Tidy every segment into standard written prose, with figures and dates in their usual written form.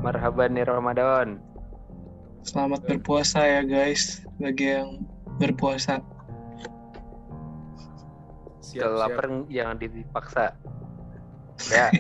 Marhaban nih Ramadan. Selamat berpuasa ya guys, bagi yang berpuasa. Kalau lapar jangan dipaksa. Ya.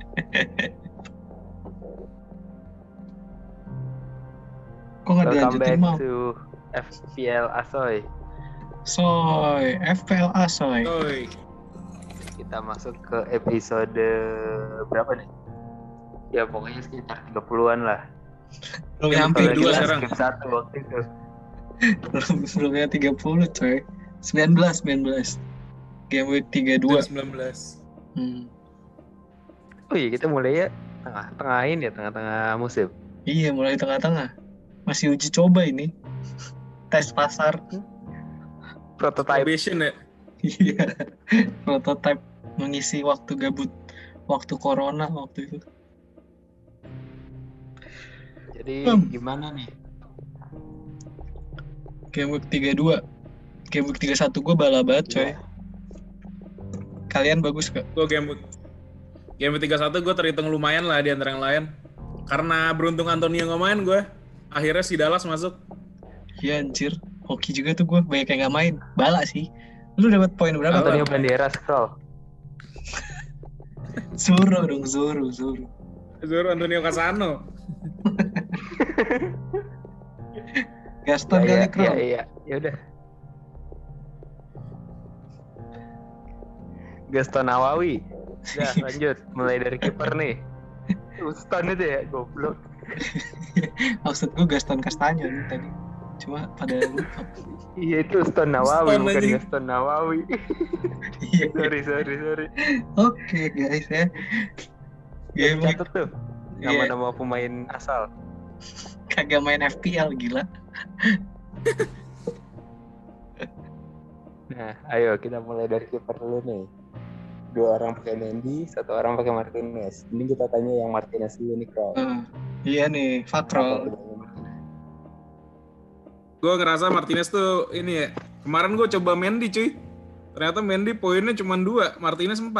Kok nggak Welcome dilanjutin back mau? to FPL Asoy. Soy, FPLA soy. Kita masuk ke episode berapa nih? Ya pokoknya sekitar 30-an lah. Belum nyampe Soalnya kita sekarang. skip 1 waktu itu. Belumnya 30 coy. 19. Game week 32. 19. Oh iya kita mulai ya tengah-tengah musim. Iya, mulai tengah-tengah. Masih uji coba ini. Tes pasar. Prototype. Probation ya. Iya. Prototype mengisi waktu gabut. Waktu corona waktu itu. Jadi gimana nih? Game week 32. Game week 31 gue bala banget coy. Kalian bagus gak? Gue game week 31 gue terhitung lumayan lah di antara yang lain. Karena beruntung Antonio nggak main gue. Akhirnya si Dallas masuk. Iya anjir. Hoki juga tuh gue. Banyak yang gak main. Bala sih. Lu dapat poin berapa? Antonio Banderas scroll. Zoro dong. Zoro. Zoro Antonio Casano. Gaston kali Kro. Iya. Ya udah. Gaston Nawawi. Udah lanjut. Mulai dari kiper nih. Gaston itu ya goblok. Maksud gue Gaston Castanyo nih tadi. Cuma pada lupa. Iya itu Gaston Nawawi Gaston bukan aja. Gaston Nawawi. Iya. Sorry. Oke guys ya. Game week Catat tuh. Nama-nama pemain asal. kagak main FPL gila. Nah, ayo kita mulai dari kiper dulu nih. 2 orang pakai Mendy, 1 orang pakai Martinez. Ini kita tanya yang Martinez dulu nih, Kro. Iya nih, Fakrol. Gue ngerasa Martinez tuh ini ya. Kemarin gue coba Mendy cuy. Ternyata Mendy poinnya cuma 2, Martinez 4.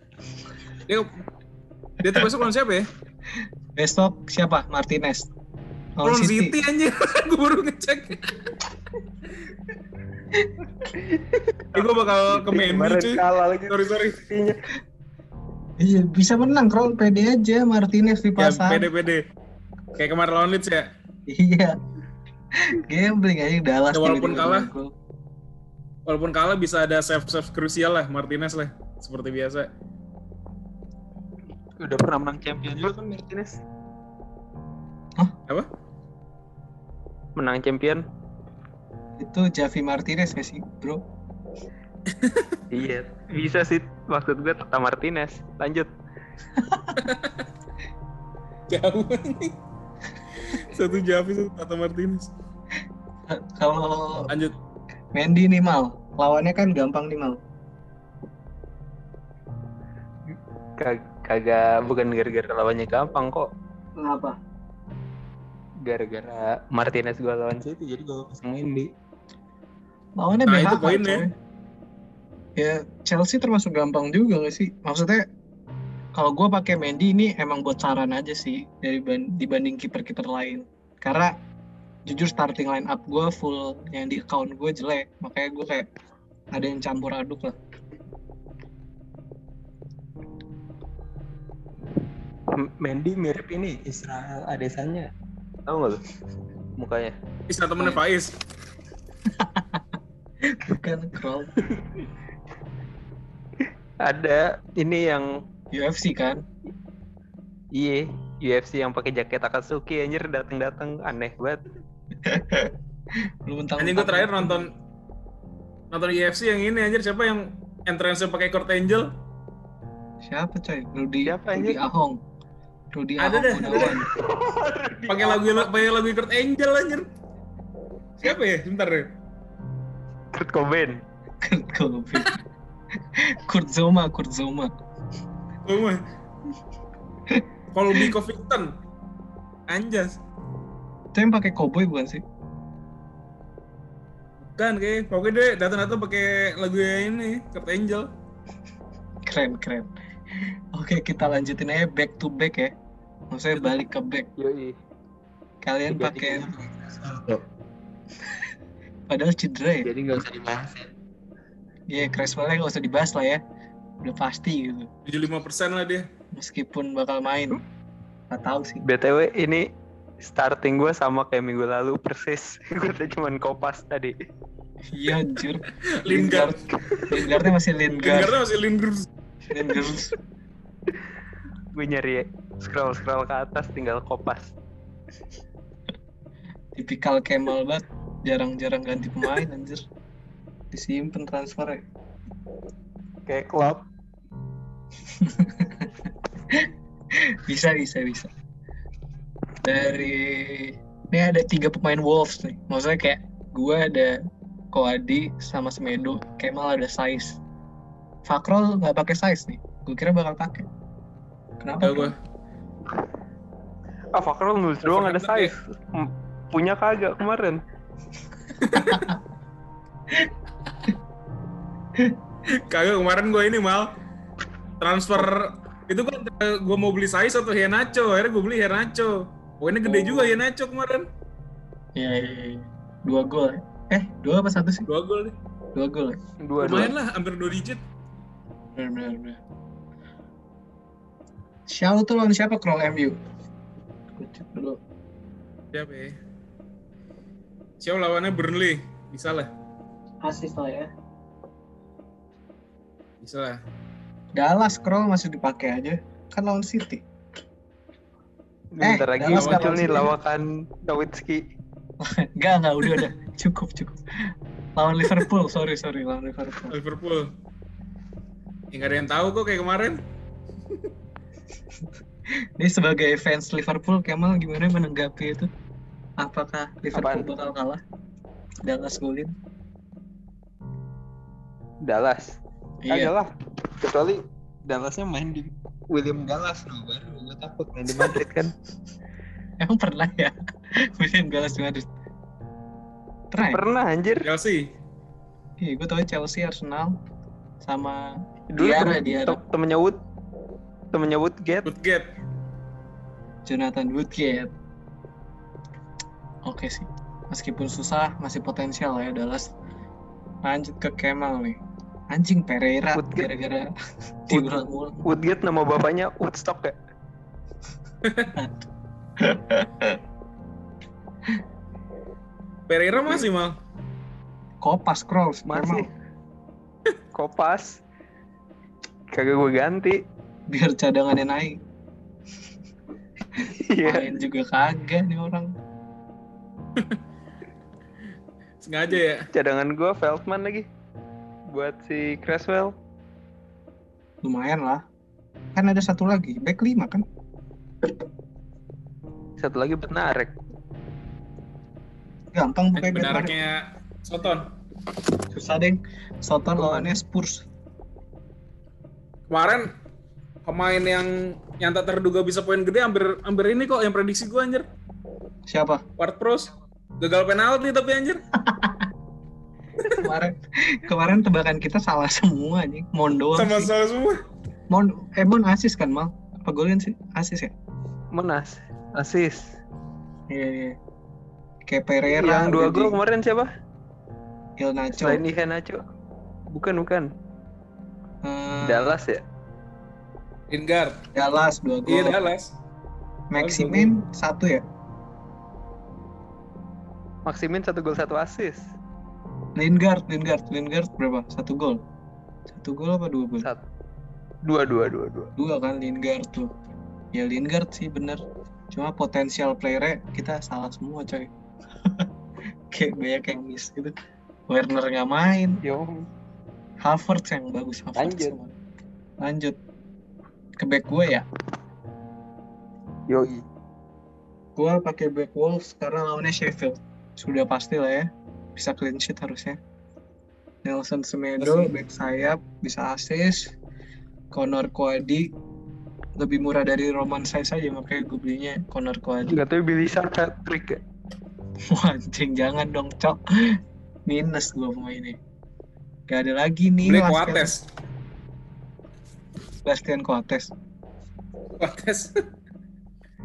Dia tuh besok lawan siapa ya? Besok siapa? Martinez. Lawan City anjir. Gue baru ngecek. Gue bakal ke Mendy cuy. Sorry. Iya, bisa menang Kro. Pede aja Martinez di Ya pasar. pede. Kayak kemarin lawan Leeds ya. Iya. Gambling aja Dallas. Ya, walaupun tiba-tiba kalah bisa ada save krusial lah Martinez lah seperti biasa. Udah pernah menang champion juga kan Martinez? Hah? Apa? Menang champion? Itu Javi Martinez gak sih, bro? Iya, bisa sih. Maksud gue Tata Martinez. Lanjut. Jauh nih. Satu Javi, satu Tata Martinez. Kalau Lanjut. Mendy nih Mal, lawannya kan gampang nih Mal. Kagak, bukan gara-gara lawannya gampang kok. Kenapa? Gara-gara Martinez gue lawan City, jadi gue pasang Mendy. Lawannya Nah, BHH, itu poinnya. coy. Ya Chelsea termasuk gampang juga gak sih? Maksudnya kalau gue pakai Mendy ini emang buat saran aja sih dibanding kiper-kiper lain. Karena jujur starting line up gue full yang di account gue jelek, makanya gue kayak ada yang campur aduk lah. Mendy mirip ini Israel Adesanya. Tahu nggak lu mukanya? Bisa temennya Faiz. Bukan Kroll. Ada ini yang UFC kan? Iya, UFC yang pakai jaket Akatsuki anjir datang aneh banget. Lu mentang. Anjing gue terakhir nonton UFC yang ini anjir, siapa yang entrance-nya pakai Kurt Angle? Siapa coy? Rudy Ahong. Ada dah. Pakai lagu Kurt Angle anjir. Siapa ya? Sebentar deh. Kurt Cobain. Kurt Zoma. Oh my. Colby Covington. Anjas. Itu yang pakai cowboy bukan sih? Bukan kayak. Pokoknya dia datang pakai lagu ini Kurt Angle. Keren. Oke, kita lanjutin aja back to back ya. Maksudnya balik ke back. Yoi. Kalian pakai padahal cedera ya. Jadi nggak usah dibahas ya. Iya, Creswell-nya nggak usah dibahas lah ya. Udah pasti gitu. 75% lah dia. Meskipun bakal main. Nggak tahu sih. BTW ini starting gue sama kayak minggu lalu persis. Gue tuh cuman kopas tadi. Iya anjir. Lingard. Lingardnya masih Lingard. Lingardnya masih Lingard. Gue nyari scroll ke atas tinggal kopas. Tipikal Kemal banget. Jarang-jarang ganti pemain anjir. Disimpen transfer ya. Kayak klub. Bisa. Dari ini ada 3 pemain Wolves nih. Maksudnya kayak gue ada Koadi sama Semedo, Kemal ada Saiz. Fakrol nggak pakai Saiz nih. Gue kira bakal pakai. Kenapa? Gue. Fakrol nulis doang ada size. Punya kagak kemarin. Kagak kemarin gue ini mal transfer itu kan gue mau beli Saiz atau Henacho, akhirnya gue beli Henacho. Poinnya gede juga Henacho kemarin. Iya. 2 gol. 2 apa 1 sih? 2 gol deh. 2 gol ya? Lumayan lah, hampir 2 digit. Benar. Xiao tuh lawan siapa Kroll MU? Gue cek dulu. Siapa ya? Siapa lawannya Burnley? Bisa lah. Asis lah ya. Bisa lah. Dallas Kroll masih dipakai aja. Kan lawan City. Bentar lagi Dallas muncul lawan nih City. lawakan Nowitzki. Enggak, udah. Cukup. Lawan Liverpool, sorry, lawan Liverpool. Liverpool. Ya, nggak ada yang tahu kok kayak kemarin. Ini sebagai fans Liverpool, Kemal gimana menanggapi itu? Apakah Liverpool bakal kalah? Dallas golin? Dallas. Iya. Kagak lah. Kecuali Dallasnya main di William Gallas no, baru gue takut main di Madrid kan. Emang pernah ya? William Gallas di Madrid? Pernah ya? Pernah anjir. Chelsea. Iya, gue tau Chelsea, Arsenal, sama Dulu temennya Woodgate. Woodgate. Jonathan Woodgate. Oke sih. Meskipun susah, masih potensial ya Dallas. Lanjut ke Kemal nih. Anjing Pereira Woodgate. gara-gara diulang-ulang. Woodgate nama bapaknya Woodstock ya? Pereira masih mal. Kopas Kroos Masih. Kopas. Kagak gue ganti. Biar cadangannya naik. Iya. Main juga kagak nih orang. Sengaja ya. Cadangan gue Feldman lagi. Buat si Creswell. Lumayan lah. Kan ada satu lagi, back 5 kan? Satu lagi Bednarek. Gampang pakai back 5. Benarnya Soton. Susah deh. Soton lawannya Spurs. Kemarin pemain yang tak terduga bisa poin gede hampir ini kok yang prediksi gue anjir. Siapa? Ward-Prowse gagal penalti tapi anjir. Kemarin tebakan kita salah semua nih. Mon doang Sama sih. salah semua. Mon asis kan Mal? Apa golin sih? Asis ya? Menas. Asis. Iya. Kayak Pereira. Yang 2 gol kemarin siapa? Ilnacho. Selain Iheanacho. Bukan. Dallas ya? Lingard. Dallas 2 gol. Iya Dallas. Maximin 1 ya? Maximin 1 gol 1 assist. Lingard berapa? 1 gol. 1 gol apa 2 gol? 2 kan Lingard tuh. Ya Lingard sih bener. Cuma potensial player-nya kita salah semua coy. Kayak banyak yang miss gitu. Werner nggak main. Yo. Havertz yang bagus. Lanjut. Ke back gue ya. Yoi. Gue pakai back Wolves karena lawannya Sheffield. Sudah pasti lah ya. Bisa clean sheet harusnya. Nelson Semedo, back sayap, bisa assist. Conor Coady lebih murah dari Roman Saiz aja, makanya gue belinya Conor Coady. Gak tau Billy Patrick ya? Wah, anjing, jangan dong, cok. Minus gue pemainnya. Gak ada lagi nih. Beli Coates. Bastian Coates.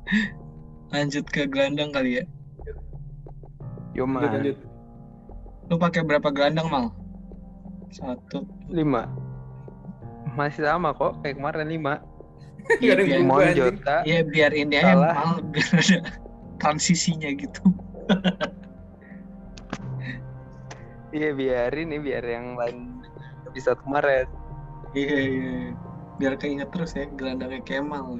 Lanjut ke gelandang kali ya. Yoman. Lanjut. Lu pakai berapa gelandang, Mal? 1. 5. Masih sama kok kayak kemarin 5. Gak ada yang berubah, anjing. Jota. Iya, biar ini aja Salah. Mal, biar ada transisinya gitu. Iya biarin nih, biar yang lain bisa kemarin. Iya. Biar keinget terus ya gelandangnya Kemal.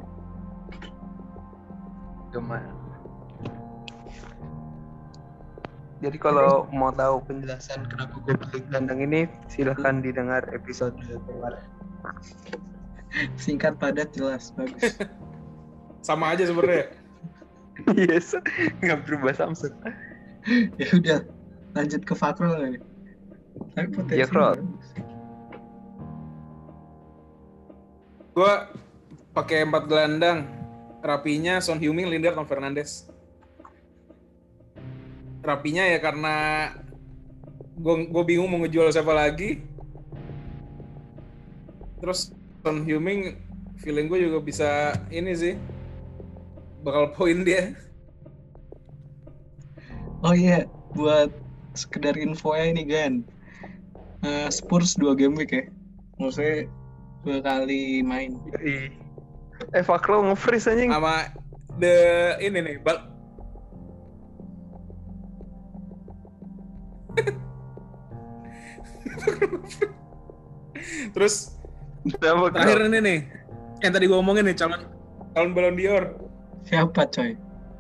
Yoman. Jadi kalau mau tahu penjelasan kenapa gue pilih gelandang ini, silahkan didengar episode kemarin. Singkat, padat, jelas, bagus. Sama aja sebenarnya. Yes, nggak berubah Samsung. Ya udah, lanjut ke Fakrul nih. Tapi potensi Ya, Krol. bagus. Gue pakai 4 gelandang. Rapinya Son Heung-min, Lingard, dan Fernandes. Rapinya ya karena gue bingung mau ngejual siapa lagi. Terus Son Heung-min feeling gue juga bisa ini sih, bakal poin dia. Oh iya, buat sekedar info ya ini Gan. Spurs 2 game week ya. Maksudnya 2 kali main. Fakro nge-freeze anjing. Sama ini nih, terus Kenapa, terakhir ini nih, yang tadi gue omongin nih, calon Ballon d'Or. Siapa coy?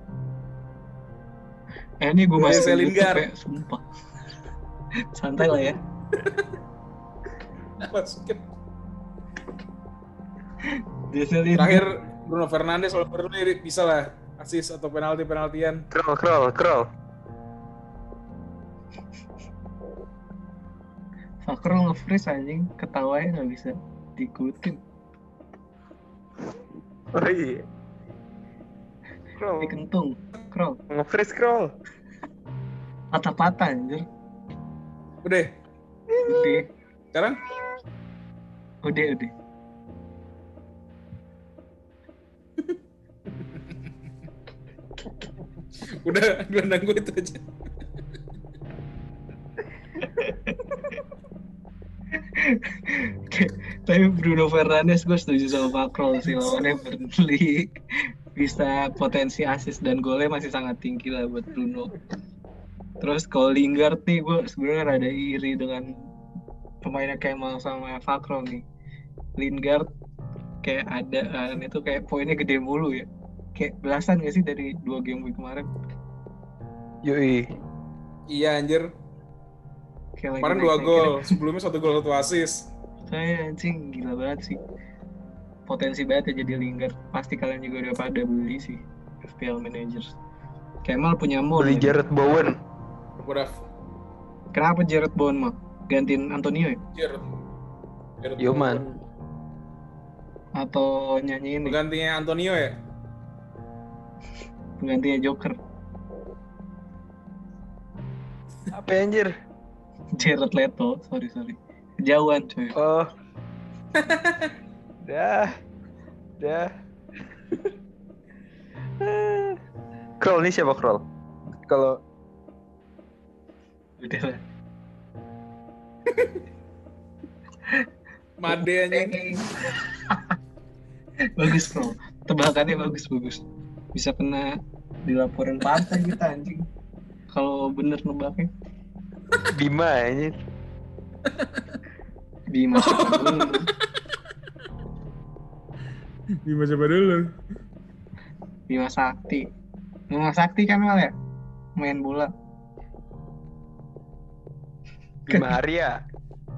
Ini gue masih Jesse YouTube Lingard. ya, sumpah. Santai lah ya. Masukin. Jesse Lingard. Terakhir Bruno Fernandes kalau perlu nih bisa lah assist atau penaltian. Kroll. Fakrul nge-freeze anjing, ketawanya nggak bisa diikutin. Oh iya. Kroll. Dikentung, Krol. Nge-freeze Kroll. Patah-patah anjir. Udah, Udah. sekarang Udah. udah gelandang gue itu aja. Tapi Bruno Fernandes gue setuju sama Fakrul sih, lawannya Burnley. Bisa potensi assist dan golnya masih sangat tinggi lah buat Bruno. Terus kalau Lingard nih gue sebenarnya rada iri dengan pemainnya Kemal sama Fakrul nih. Lingard kayak ada itu kayak poinnya gede mulu ya. Kayak belasan gak sih dari 2 game week kemarin? Yoi. Iya anjir, Kayak kemarin 2 gol, sebelumnya 1 gol 1 assist. Saya anjing gila banget sih. Potensi banget ya jadi Lingard. Pasti kalian juga udah pada beli sih FPL managers. Kemal punya Moon. Beli Jared Bowen. Udah, Kenapa Jared Bowen mah? Gantiin Antonio ya? Jared Yoman. Atau nyanyi ini? Penggantinya Antonio ya? Penggantinya Joker. Apa ya, anjir? Jared Leto. Sorry. Kejauhan coy. Oh. Dah. Kroll ini siapa Kroll? Kalau Udah lah. Made anjing. Bagus bro. Tebakannya bagus. Bisa kena dilaporin partai kita anjing. Kalau bener nebaknya. Bima anjir. Bima siapa dulu? Bima siapa dulu? Bima Sakti kan Mal ya? Main bola. Bima Arya.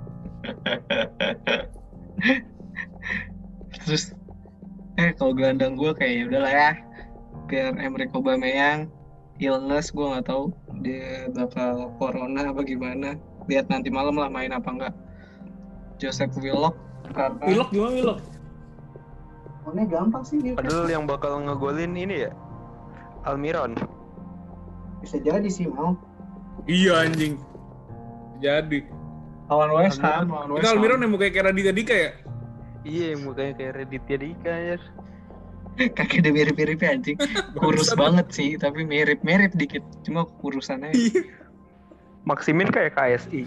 Terus kalau gelandang gue kayak ya udahlah ya, biar Emre Aubameyang illness, gue nggak tahu dia bakal corona apa gimana, lihat nanti malam lah main apa enggak. Joseph Willock karena Willock gimana Willock? mainnya gampang sih dia. Padahal yang bakal ngegolin ini ya Almiron. Bisa jadi sih mau Iya anjing. Jadi. lawan West Ham. Itu Almiron yang mukanya kayak Raditya Dika ya? Iya, mukanya kayak Raditya Dika anjir. Kagak ada mirip-mirip anjing. Kurus Bangsat. banget sih, tapi mirip-mirip dikit. Cuma kurusannya. Maximin kayak KSI.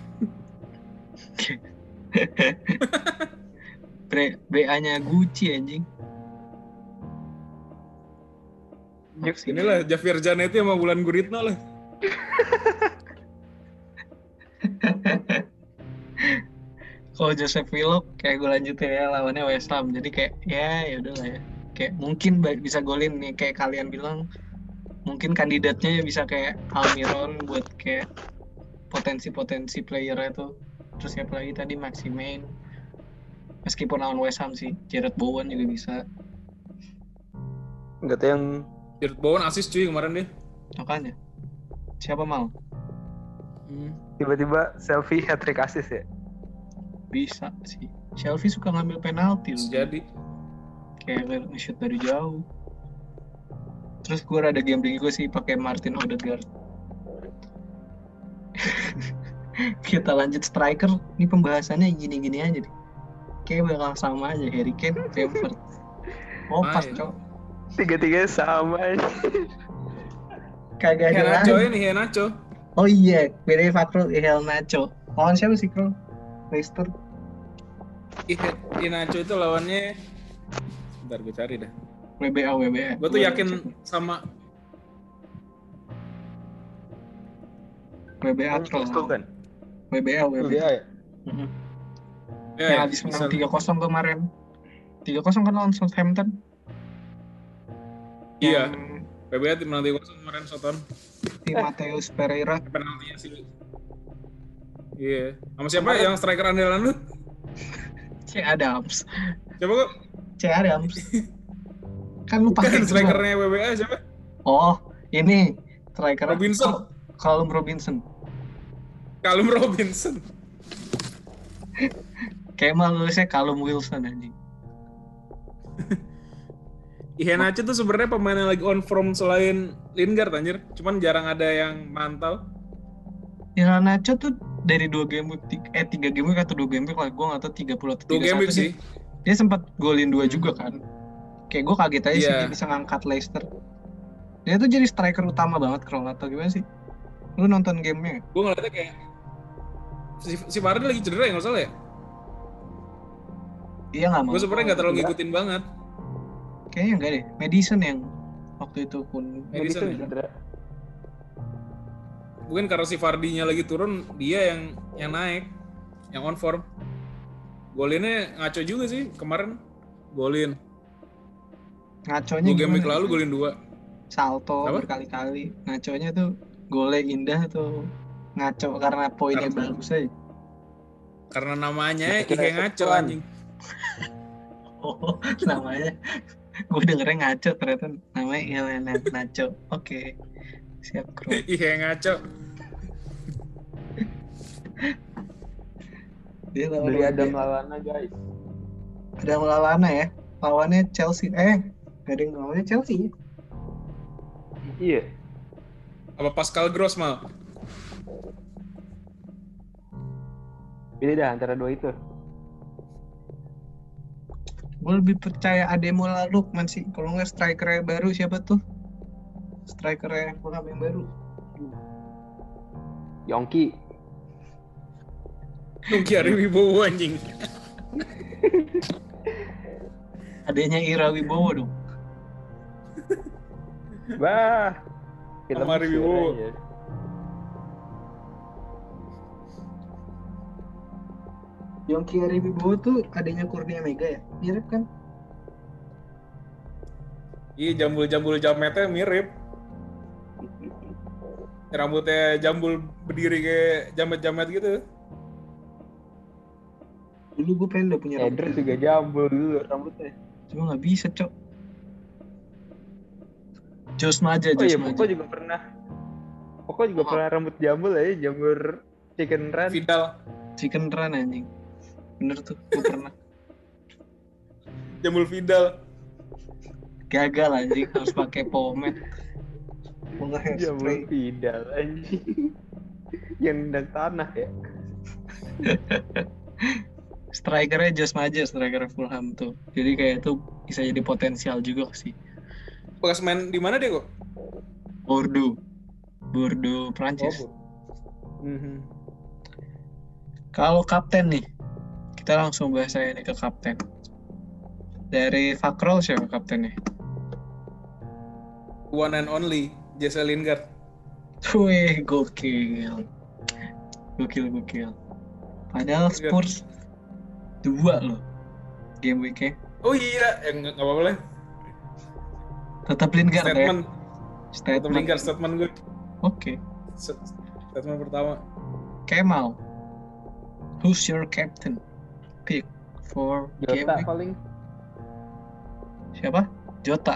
BA-nya Gucci anjing. Inilah Javier Zanetti sama Wulan Guritno lah. Kalau Joseph Willock kayak gue lanjutin ya, lawannya West Ham. Jadi kayak ya udahlah ya. Kayak mungkin bisa golin nih, kayak kalian bilang. Mungkin kandidatnya bisa kayak Almiron buat kayak potensi player itu. Terus siapa lagi tadi, Maximin. Meskipun lawan West Ham sih, Jarrod Bowen juga bisa. Enggak tahu yang Jarrod Bowen assist cuy kemarin deh. Makanya. Siapa Mal? tiba-tiba selfie hat-trick assist ya. Bisa sih. Shelby suka ngambil penalti loh. Jadi Kayak nge-shoot dari jauh. Terus gue rada gambling gue sih pakai Martin Odegaard. Kita lanjut striker. Ini pembahasannya gini-gini aja deh. Kayak bakal sama aja, Harry Kane, Bamford. Oh pas Main. cok. Tiga-tiga sama aja. Kagak ada Henacho lagi. ini Henacho. Oh iya, bedanya Fakrul Iheanacho. Lawan siapa sih Krul? Leicester. Henacho itu lawannya. Bentar gue cari dah. WBA. Gue tuh yakin sama WBA Krul. Itu kan. WBA. Dia ya. Mhm. ya, Yang habis menang 3-0 kemarin. 3-0 kan lawan Southampton. Iya. Yang PBA tim menang 3-0 kemarin Soton. si Mateus Pereira. Penaltinya sih. Iya. Sama siapa yang striker andalan lu? C. Adams. Siapa kok? C. Adams. Kan lu pakai Kan strikernya WBA siapa? Oh, ini striker Robinson. Callum Robinson. Callum Robinson. Kayak mah nulisnya Callum Wilson anjing. Iheanacho tuh sebenarnya pemain yang lagi on form selain Lingard anjir. Cuman jarang ada yang mantau. Iheanacho tuh dari 2 game week 3 game week atau 2 game week lah, gue nggak tahu 30 atau 2 game 31 week sih. dia sempat golin 2 juga kan. Kayak gue kaget aja sih Iya. dia bisa ngangkat Leicester. Dia tuh jadi striker utama banget Krol atau gimana sih? Lu nonton gamenya? Gue ngeliatnya kayak si Vardy lagi cedera ya nggak salah ya. Dia nggak mau. Gue sebenarnya nggak terlalu ngikutin banget. Kayaknya enggak deh. Madison yang waktu itu pun. Madison ya? cedera. Mungkin karena si Vardy-nya lagi turun, dia yang naik, yang on form. Golinnya ngaco juga sih kemarin. Golin. Ngaconya 2 game week gimana? lalu golin 2. Salto Apa? berkali-kali. Ngaconya tuh golnya indah tuh. Ngaco karena poinnya Karena- bagus aja. Karena namanya Kira-kira Ihe ngaco ketuan. anjing. Oh, namanya. Gue dengernya ngaco ternyata namanya Elena Nacho. Oke. Siap, Bro. Ihe ngaco. Dia lawan Beli ada WBA. Maulana guys. Ada Maulana ya. Lawannya Chelsea. Gak ada yang lawannya Chelsea ya. Iya. Apa Pascal Gross mal? Pilih dah antara dua itu. Gue lebih percaya Ademola Lookman sih. Kalau nggak strikernya baru siapa tuh? Strikernya Fulham yang baru. Yongki. Nuki Ari Wibowo anjing. Adanya Ira Wibowo dong. Bah. Kita Sama mesir Wibowo. aja. Yongki Ira Wibowo tuh adanya Kurnia Mega ya? Mirip kan? Iya jambul-jambul jametnya mirip. Rambutnya jambul berdiri kayak jamet-jamet gitu. Dulu gue pengen udah punya Eder juga jambul dulu rambutnya. Cuma nggak bisa, Cok. Jos Maja, Oh iya, Jos Maja. Poko juga pernah. Poko juga pernah rambut jambul aja, jambul chicken run. Vidal. Chicken Run anjing. Bener tuh, gue pernah. Jambul Vidal. Gagal anjing, harus pakai pomade. Mau nge Jambul hairspray. Vidal anjing. Yang nendang tanah ya. Strikernya Josh Maja, striker Fulham tuh. Jadi kayak itu bisa jadi potensial juga sih. Bekas main di mana dia kok? Bordeaux Prancis. Mhm. Kalau kapten nih, kita langsung bahas aja nih ke kapten. Dari Fakrol siapa kaptennya? One and only Jesse Lingard. Wih, gokil. Padahal Spurs 2 loh game week-nya. Oh iya, nggak apa-apa lah. Tetap Lingard Statement. ya. Tetap Lingard statement gue. Oke. Statement pertama. Kemal, who's your captain pick for game Jota week? paling. Siapa? Jota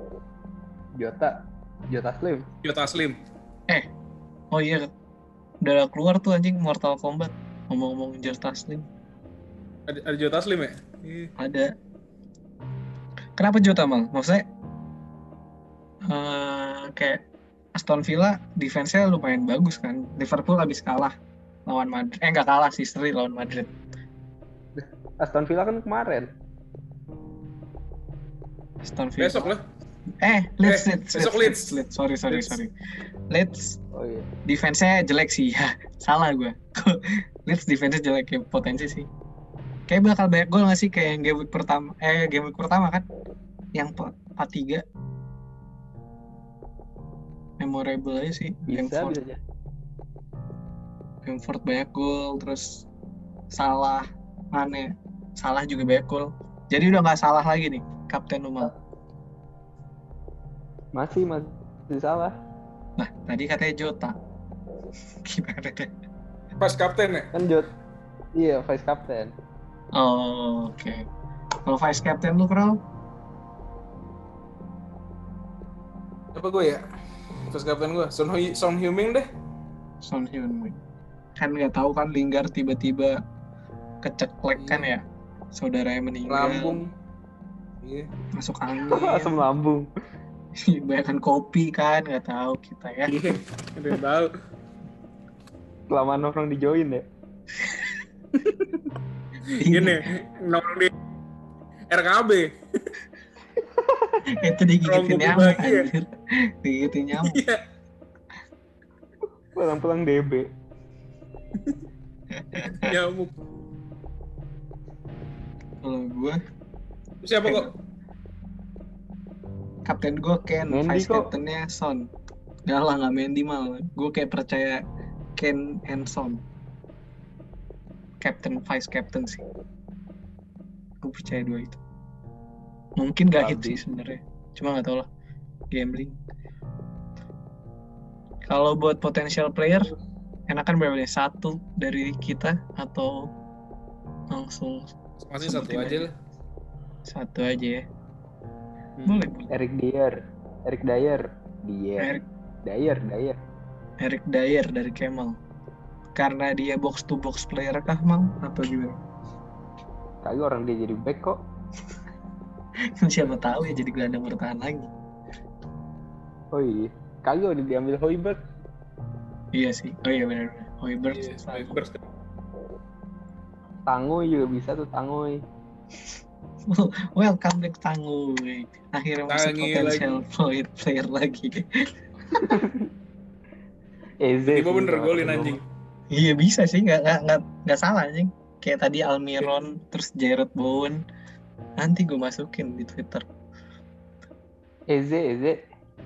Slim. Jota Slim. Oh iya, udah keluar tuh anjing Mortal Kombat. Ngomong-ngomong Jota Slim. Ada Jota Slim ya? Iya. Ada. Kenapa Jota Mal? Maksudnya kayak Aston Villa defense-nya lumayan bagus kan. Liverpool habis kalah lawan Madrid. Nggak kalah sih, seri lawan Madrid. Aston Villa kan kemarin. Aston Villa. Besok lah. Leeds. Besok Leeds. Sorry. Leeds Oh iya. defense-nya jelek sih. Salah gue. Leeds defense-nya jelek ya, potensi sih. Kayak bakal banyak gol nggak sih kayak yang game week pertama kan? Yang 4-3. Memorable aja sih. Bisa aja. Bamford banyak gol, terus Salah juga banyak gol. Jadi udah nggak salah lagi nih kapten Umal. Masih salah. Nah, tadi katanya Jota. Gimana deh? Pas kapten ya? Kan iya, vice captain. Oh, oke. Kalau vice captain lu, Kral? Apa gue ya? Pas kapten gue, Son Heung-min deh. Son Heung-min. Kan nggak tahu kan Lingard tiba-tiba keceklek kan ya. Saudaranya meninggal. Lambung. Iya. Masuk angin. Asam lambung. Banyakan kopi kan, nggak tahu kita ya. Iya, ada yang tahu. Kelamaan nongkrong di join ya. Gini, nongkrong di RKB. Itu digigitin nyamuk anjir. Digigitin nyamuk. Iya. Pulang-pulang DB. Nyamuk. Kalau gue Siapa kok? kapten gue Ken, Mendy vice kok. captainnya Son. Gak lah, gak Mendy mal. Gue kayak percaya Ken and Son. Captain, vice captain sih. Gue percaya dua itu. Mungkin gak hit sih sebenarnya. Cuma gak tau lah. Gambling. Kalau buat potential player, enakan berapa nih? Satu dari kita atau langsung Masih satu sebutin aja lah. Satu aja ya. Boleh. Eric Dyer. Eric Dyer dari Kemal. Karena dia box to box player kah, Mang? Atau gimana? Kagak, orang dia jadi back kok. Siapa tahu ya jadi gelandang bertahan lagi. Oh iya. Kagak udah diambil Højbjerg. Iya sih. Oh iya benar. Højbjerg. Iya, Højbjerg. Tanguy juga bisa tuh, Tanguy. Welcome back Tanguy. Akhirnya masuk potential player lagi. Tiba bener golin anjing. Iya bisa sih, nggak salah anjing. Kayak tadi Almiron, terus Jarrod Bowen. Nanti gue masukin di Twitter. Eze.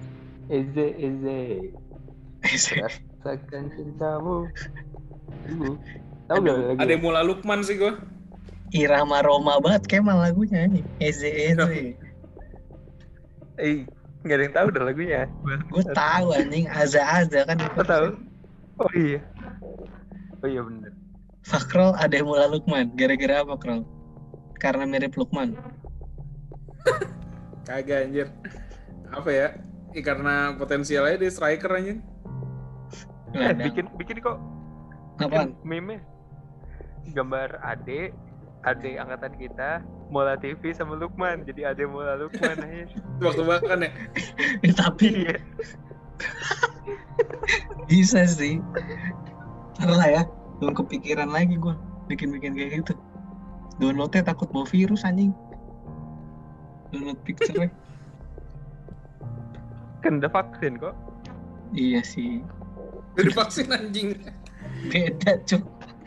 Rasakan cintamu. Tahu gak lagi? Ada Mula Lukman sih gue. Irama Roma banget Kemal lagunya nih. Eze. Nggak ada yang tahu dah lagunya. Gue tahu anjing, Aza kan. Gue tahu. Oh iya bener. Fakrol ada Mula Lukman. Gara-gara apa, Krol? Karena mirip Lukman. Kagak anjir. Apa ya? Karena potensialnya dia striker anjing. Bikin kok. Apaan? Meme. Gambar Ade angkatan kita, Mola TV sama Lukman. Jadi Ade Mola Lukman aja. Waktu bahkan ya. Tapi bisa sih. Ntar lah ya, belum kepikiran lagi gue bikin kayak gitu. Downloadnya takut bawa virus anjing. Download picture-nya. Kan udah vaksin kok. Iya sih. Udah divaksin anjing. Beda cuk.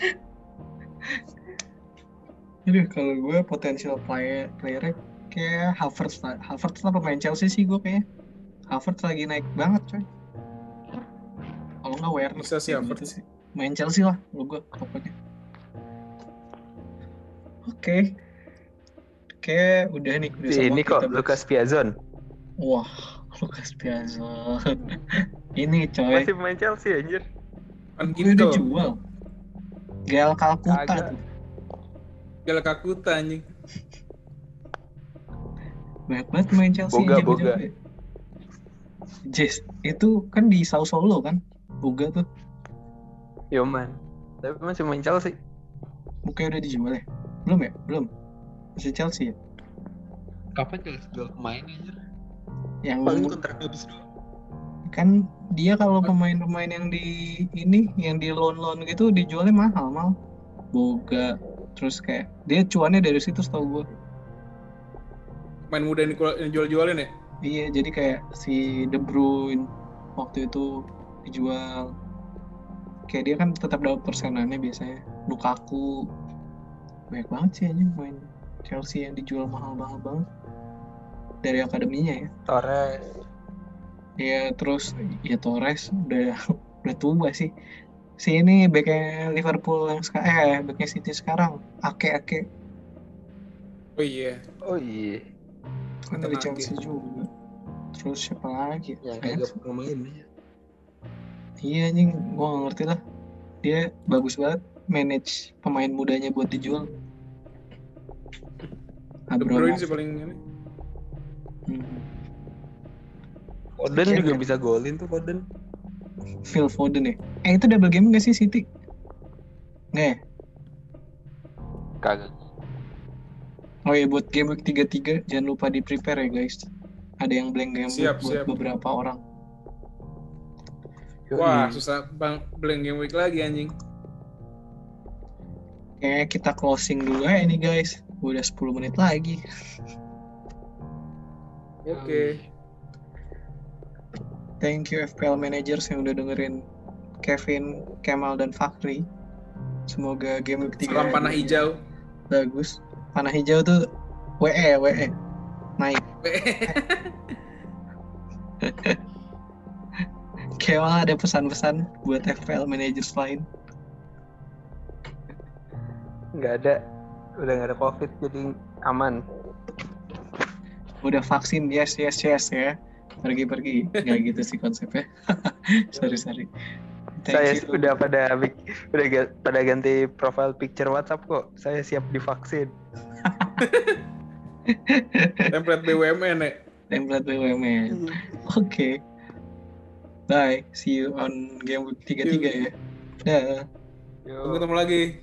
Aduh, kalau gue potensial player kayak Havertz lah. Havertz lah pemain Chelsea sih gue kayaknya. Havertz lagi naik banget coy. Kalau nggak Werner Bisa sih gitu Havertz. sih. Main Chelsea lah lo gue pokoknya. Oke. Oke, udah nih. Udah Ini semua kok kita bahas. Lucas Piazon. Wah, Lucas Piazon. Ini coy. Masih pemain Chelsea anjir. Kan Gue udah gitu. jual. Gael Calcutta Kagak. tuh. Gala Kakuta anjing. Banyak banget main Chelsea Boga, yang jago-jago Boga. ya. Jess, itu kan di Sao Paulo kan? Boga tuh. Yoman. Tapi masih main Chelsea. Bukannya udah dijual ya? Belum ya? Belum. Masih Chelsea ya? Kapan Chelsea jual pemain anjir? Yang kontrak habis doang. kan dia kalau pemain-pemain yang di ini, yang di loan gitu dijualnya mahal. Boga. Terus kayak dia cuannya dari situ setahu gue. Main muda yang jual-jualin ya? Iya, jadi kayak si De Bruyne waktu itu dijual. Kayak dia kan tetap dapat persenannya biasanya. Lukaku. Banyak banget sih aja main Chelsea yang dijual mahal-mahal banget. Dari akademinya ya. Torres. Ya terus ya Torres udah tua sih. Si ini backnya Liverpool yang sekarang, backnya City sekarang, Ake. Oh iya. Oh iya. Kan dari Ake. Chelsea juga. Terus siapa lagi? Yang Banyak kagak pemain ya. Iya anjing, gua gak ngerti lah. Dia bagus banget manage pemain mudanya buat dijual. De Bruyne sih Abramovich. paling ini. Foden Oke, juga kan? bisa golin tuh Foden. Phil Foden ya. Itu double game gak sih City? Nggak ya? Kagak. Oh iya, buat game week 33 jangan lupa di prepare ya guys. Ada yang blank game week Siap, buat siap. beberapa orang. Wah, susah bang blank game week lagi anjing. Kayaknya kita closing dulu ya ini guys. Udah 10 menit lagi. Oke. Thank you FPL managers yang udah dengerin Kevin, Kemal, dan Fakri. Semoga game week 3 Salam panah hijau. bagus. Panah hijau tuh WE naik. Kemal ada pesan-pesan buat FPL managers lain. Nggak ada. Udah nggak ada COVID jadi aman. Udah vaksin, yes ya. Pergi. Nggak gitu sih konsepnya. sorry. Saya Thank you. udah pada ganti profile picture WhatsApp kok. Saya siap divaksin. Template BUMN ya. Template BUMN. Oke. Bye. See you on game week 33 ya. Dah. Tunggu ketemu lagi.